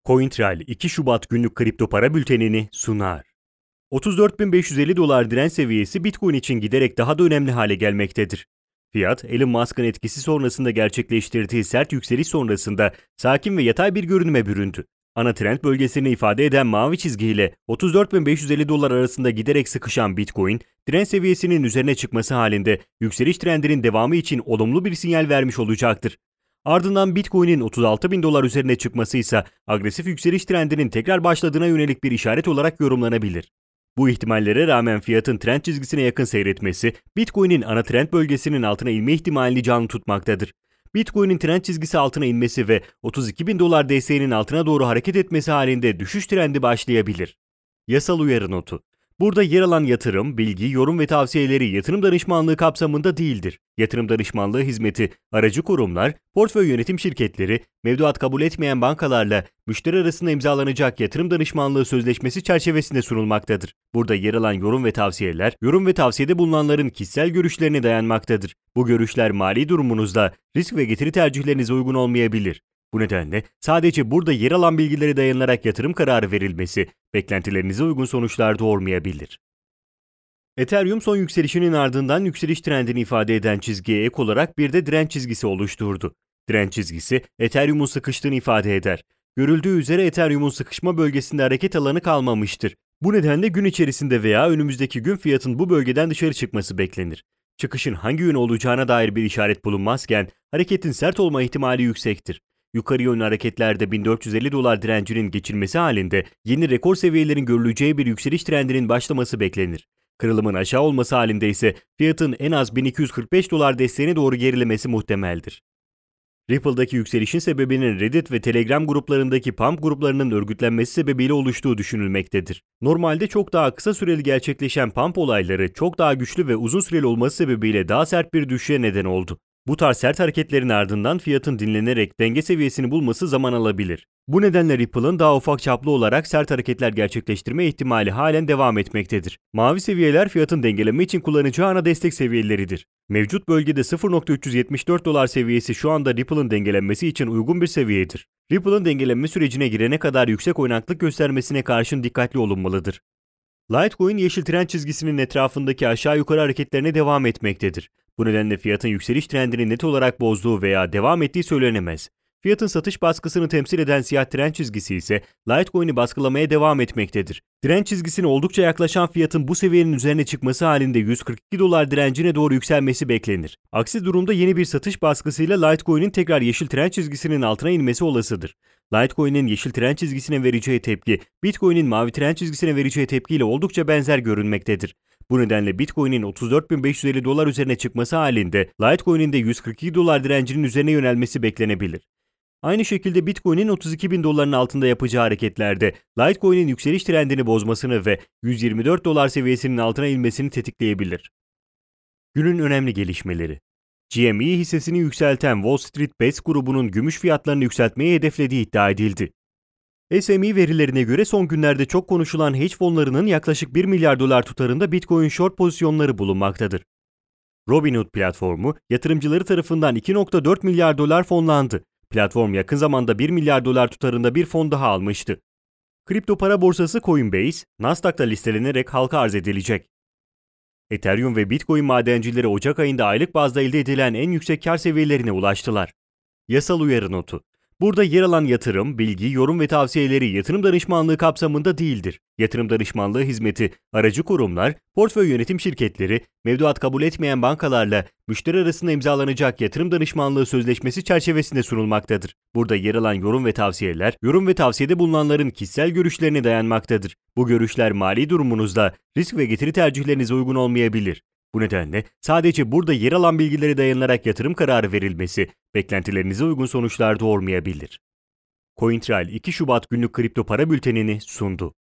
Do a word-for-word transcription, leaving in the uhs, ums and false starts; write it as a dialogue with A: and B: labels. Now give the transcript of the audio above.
A: CoinTrail iki Şubat günlük kripto para bültenini sunar. otuz dört bin beş yüz elli dolar direnç seviyesi Bitcoin için giderek daha da önemli hale gelmektedir. Fiyat, Elon Musk'ın etkisi sonrasında gerçekleştirdiği sert yükseliş sonrasında sakin ve yatay bir görünüme büründü. Ana trend bölgesini ifade eden mavi çizgi ile otuz dört bin beş yüz elli dolar arasında giderek sıkışan Bitcoin, direnç seviyesinin üzerine çıkması halinde yükseliş trendinin devamı için olumlu bir sinyal vermiş olacaktır. Ardından Bitcoin'in otuz altı bin dolar üzerine çıkması ise agresif yükseliş trendinin tekrar başladığına yönelik bir işaret olarak yorumlanabilir. Bu ihtimallere rağmen fiyatın trend çizgisine yakın seyretmesi, Bitcoin'in ana trend bölgesinin altına inme ihtimalini canlı tutmaktadır. Bitcoin'in trend çizgisi altına inmesi ve otuz iki bin dolar desteğinin altına doğru hareket etmesi halinde düşüş trendi başlayabilir. Yasal uyarı notu. Burada yer alan yatırım, bilgi, yorum ve tavsiyeleri yatırım danışmanlığı kapsamında değildir. Yatırım danışmanlığı hizmeti, aracı kurumlar, portföy yönetim şirketleri, mevduat kabul etmeyen bankalarla müşteri arasında imzalanacak yatırım danışmanlığı sözleşmesi çerçevesinde sunulmaktadır. Burada yer alan yorum ve tavsiyeler, yorum ve tavsiyede bulunanların kişisel görüşlerine dayanmaktadır. Bu görüşler mali durumunuzda risk ve getiri tercihlerinize uygun olmayabilir. Bu nedenle sadece burada yer alan bilgilere dayanarak yatırım kararı verilmesi, beklentilerinize uygun sonuçlar doğurmayabilir. Ethereum son yükselişinin ardından yükseliş trendini ifade eden çizgiye ek olarak bir de direnç çizgisi oluşturdu. Direnç çizgisi, Ethereum'un sıkıştığını ifade eder. Görüldüğü üzere Ethereum'un sıkışma bölgesinde hareket alanı kalmamıştır. Bu nedenle gün içerisinde veya önümüzdeki gün fiyatın bu bölgeden dışarı çıkması beklenir. Çıkışın hangi yön olacağına dair bir işaret bulunmazken, hareketin sert olma ihtimali yüksektir. Yukarı yönlü hareketlerde bin dört yüz elli dolar direncinin geçilmesi halinde yeni rekor seviyelerin görüleceği bir yükseliş trendinin başlaması beklenir. Kırılımın aşağı olması halinde ise fiyatın en az bin iki yüz kırk beş dolar desteğine doğru gerilemesi muhtemeldir. Ripple'daki yükselişin sebebinin Reddit ve Telegram gruplarındaki pump gruplarının örgütlenmesi sebebiyle oluştuğu düşünülmektedir. Normalde çok daha kısa süreli gerçekleşen pump olayları çok daha güçlü ve uzun süreli olması sebebiyle daha sert bir düşüşe neden oldu. Bu tarz sert hareketlerin ardından fiyatın dinlenerek denge seviyesini bulması zaman alabilir. Bu nedenle Ripple'ın daha ufak çaplı olarak sert hareketler gerçekleştirme ihtimali halen devam etmektedir. Mavi seviyeler fiyatın dengeleme için kullanacağı ana destek seviyeleridir. Mevcut bölgede sıfır nokta üç yüz yetmiş dört dolar seviyesi şu anda Ripple'ın dengelenmesi için uygun bir seviyedir. Ripple'ın dengelenme sürecine girene kadar yüksek oynaklık göstermesine karşın dikkatli olunmalıdır. Litecoin yeşil trend çizgisinin etrafındaki aşağı yukarı hareketlerine devam etmektedir. Bu nedenle fiyatın yükseliş trendini net olarak bozduğu veya devam ettiği söylenemez. Fiyatın satış baskısını temsil eden siyah trend çizgisi ise Litecoin'i baskılamaya devam etmektedir. Trend çizgisine oldukça yaklaşan fiyatın bu seviyenin üzerine çıkması halinde yüz kırk iki dolar direncine doğru yükselmesi beklenir. Aksi durumda yeni bir satış baskısıyla Litecoin'in tekrar yeşil trend çizgisinin altına inmesi olasıdır. Litecoin'in yeşil trend çizgisine vereceği tepki, Bitcoin'in mavi trend çizgisine vereceği tepkiyle oldukça benzer görünmektedir. Bu nedenle Bitcoin'in otuz dört bin beş yüz elli dolar üzerine çıkması halinde Litecoin'in de yüz kırk iki dolar direncinin üzerine yönelmesi beklenebilir. Aynı şekilde Bitcoin'in otuz iki bin doların altında yapacağı hareketlerde Litecoin'in yükseliş trendini bozmasını ve yüz yirmi dört dolar seviyesinin altına inmesini tetikleyebilir. Günün önemli gelişmeleri. G M E hissesini yükselten Wall Street Bets grubunun gümüş fiyatlarını yükseltmeyi hedeflediği iddia edildi. S M E verilerine göre son günlerde çok konuşulan hedge fonlarının yaklaşık bir milyar dolar tutarında Bitcoin short pozisyonları bulunmaktadır. Robinhood platformu yatırımcıları tarafından iki nokta dört milyar dolar fonlandı. Platform yakın zamanda bir milyar dolar tutarında bir fon daha almıştı. Kripto para borsası Coinbase, Nasdaq'ta listelenerek halka arz edilecek. Ethereum ve Bitcoin madencileri Ocak ayında aylık bazda elde edilen en yüksek kar seviyelerine ulaştılar. Yasal uyarı notu. Burada yer alan yatırım, bilgi, yorum ve tavsiyeleri yatırım danışmanlığı kapsamında değildir. Yatırım danışmanlığı hizmeti, aracı kurumlar, portföy yönetim şirketleri, mevduat kabul etmeyen bankalarla müşteri arasında imzalanacak yatırım danışmanlığı sözleşmesi çerçevesinde sunulmaktadır. Burada yer alan yorum ve tavsiyeler, yorum ve tavsiyede bulunanların kişisel görüşlerine dayanmaktadır. Bu görüşler mali durumunuzda risk ve getiri tercihlerinize uygun olmayabilir. Bu nedenle sadece burada yer alan bilgilere dayanarak yatırım kararı verilmesi, beklentilerinize uygun sonuçlar doğurmayabilir. CoinTrail iki Şubat günlük kripto para bültenini sundu.